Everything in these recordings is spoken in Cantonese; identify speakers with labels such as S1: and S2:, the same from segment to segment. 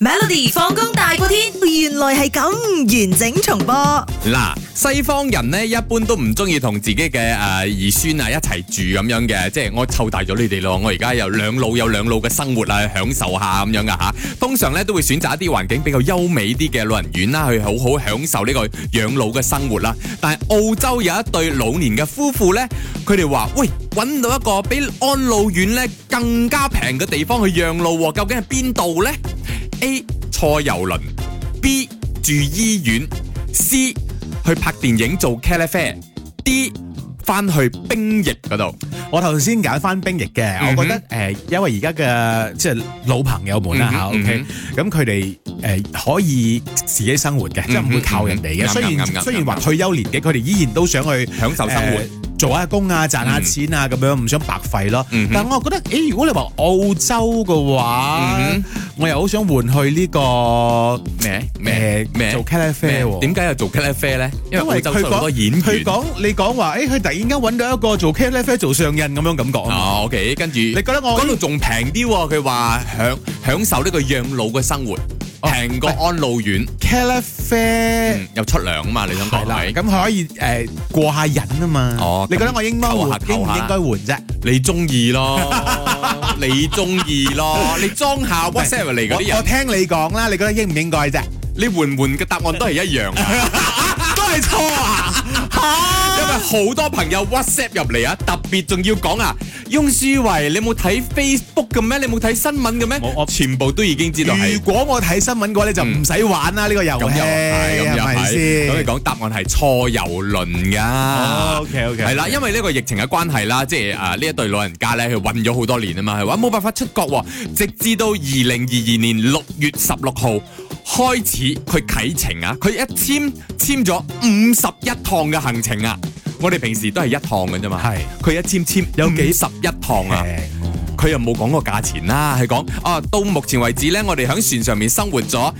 S1: Melody 放工大過天，原來係咁完整重播。
S2: 嗱，西方人呢一般都唔中意同自己嘅兒孫啊一齊住咁樣嘅，即係我湊大咗你哋咯，我而家有兩老嘅生活啊，享受下咁樣噶吓。通常咧都會選擇一啲環境比較優美啲嘅老人院啦，去好好享受呢個養老嘅生活啦。但係澳洲有一對老年嘅夫婦咧，佢哋話：喂，搵到一個比安老院咧更加平嘅地方去養老，究竟係邊度咧？A 坐郵輪 ，B 住醫院 ，C 去拍電影做茄喱啡 ，D 翻去兵役嗰度。
S3: 我頭先揀翻兵役嘅，我覺得因為而家嘅即係老朋友們啦嚇，OK，咁佢哋可以自己生活嘅，即係唔會靠人哋嘅。雖然話退休年紀，佢哋依然都想去
S2: 享受生活。
S3: 做下工啊，賺下錢啊，咁樣唔想白費咯。但係我覺得，如果你話澳洲嘅話，我又好想換去呢個咩做茄喱啡喎。
S2: 點解要做茄喱啡咧？因為澳洲好多演員。
S3: 你講話，佢突然間揾到一個做茄喱啡做上癮咁樣感覺。
S2: 哦，OK，跟住你
S3: 覺得我
S2: 嗰度仲平啲喎？佢話享受呢個養老嘅生活。平過安老院，
S3: 茄喱啡
S2: 又出糧啊嘛！你想講係
S3: 咁佢可以過下癮啊嘛。哦，你覺得我應唔應該換啫？
S2: 你中意咯，你中意咯，你裝下 WhatsApp 嚟嗰啲人。
S3: 我聽你講啦，你覺得應唔應該啫？
S2: 你換嘅答案都係一樣啊，
S3: 都係錯啊！
S2: 因為好多朋友 WhatsApp 入嚟啊，特別仲要講啊，翁舒維，你冇睇 Facebook 嘅咩？你冇睇新聞嘅咩？我全部都已經知道係。
S3: 如果我睇新聞嘅話，你就唔使玩啦呢個遊戲，係咪先？
S2: 咁你講答案係錯郵輪㗎。
S3: OK，
S2: 係啦，因為呢個疫情嘅關係啦，即係呢一對老人家咧，佢韞咗好多年啊嘛，係話冇辦法出國喎，直至到2022年6月16號。開始佢啟程啊！佢一簽咗51趟嘅行程啊！我哋平時都係一趟嘅啫嘛，係佢一簽有幾51趟啊！佢又冇講過價錢啦，係講到目前為止咧，我哋喺船上面生活咗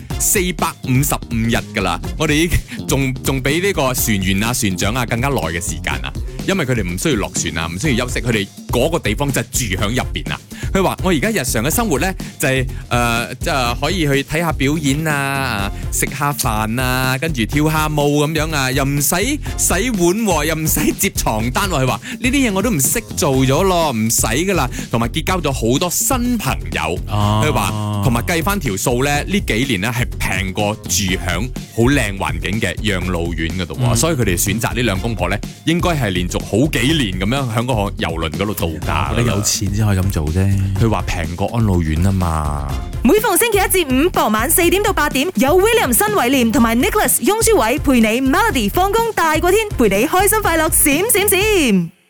S2: 455日噶啦，我哋仲比呢個船員啊、船長啊更加耐嘅時間啊！因為佢哋唔需要落船啊，唔需要休息，佢哋嗰個地方就住喺入邊啊。佢話：我而家日常嘅生活咧，就係即係可以去睇下表演啊，食下飯啊，跟住跳下舞咁樣啊，又唔使洗碗，又唔使摺床單。佢話呢啲嘢我都唔識做咗咯，唔使噶啦。同埋結交咗好多新朋友。佢話同埋計翻條數咧，呢幾年咧係平過住響好靚環境嘅養老院嗰度。所以佢哋選擇呢兩公婆咧，應該係連續好幾年咁樣喺嗰個郵輪嗰度度假。
S3: 你有錢先可以咁做啫。
S2: 佢話平過安老院啊嘛。
S1: 每逢星期一至五傍晚4點到8點，有 William 新偉廉同埋 Nicholas 翁舒偉陪你 Melody 放工大過天，陪你開心快樂閃閃閃。